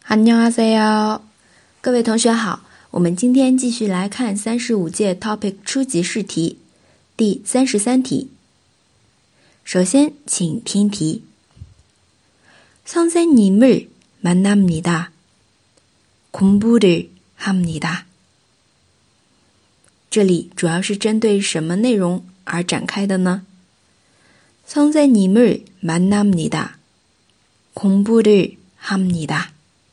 안녕하세요，各位同学好，我们今天继续来看35届 TOPIK 初级试题第33题。首先，请听题。선생님을 만납니다. 공부를 합니다. 这里主要是针对什么内容而展开的呢？ 선생님을 만납니다. 공부를 합니다.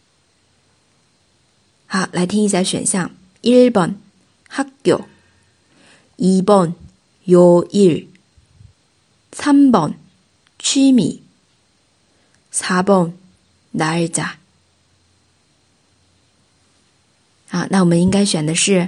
好，来听一下选项。1번 학교 2번 요일 3번 취미 4번 날짜。 好，那我们应该选的是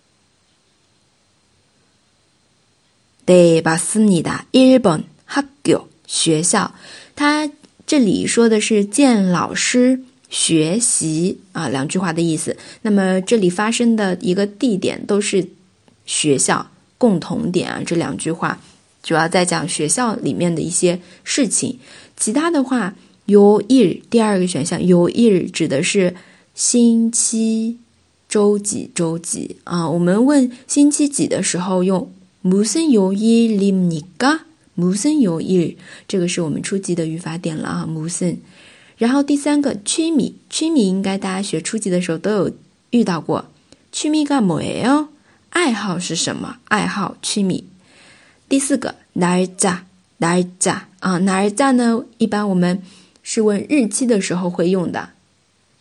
네 맞습니다. 1번 학교 学校，它这里说的是见老师学习两句话的意思。那么这里发生的一个地点都是学校，共同点这两句话主要在讲学校里面的一些事情。其他的话요일第二个选项요일指的是星期周几我们问星期几的时候用무슨 요일입니까？ 무슨 요일， 这个是我们初级的语法点了무슨。然后第三个취미应该大家学初级的时候都有遇到过。취미가 뭐예요？ 爱好是什么？爱好취미。第四个날짜 날짜呢，一般我们是问日期的时候会用的。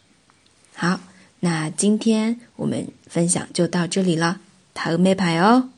好，那今天我们分享就到这里了。다음에 봐요。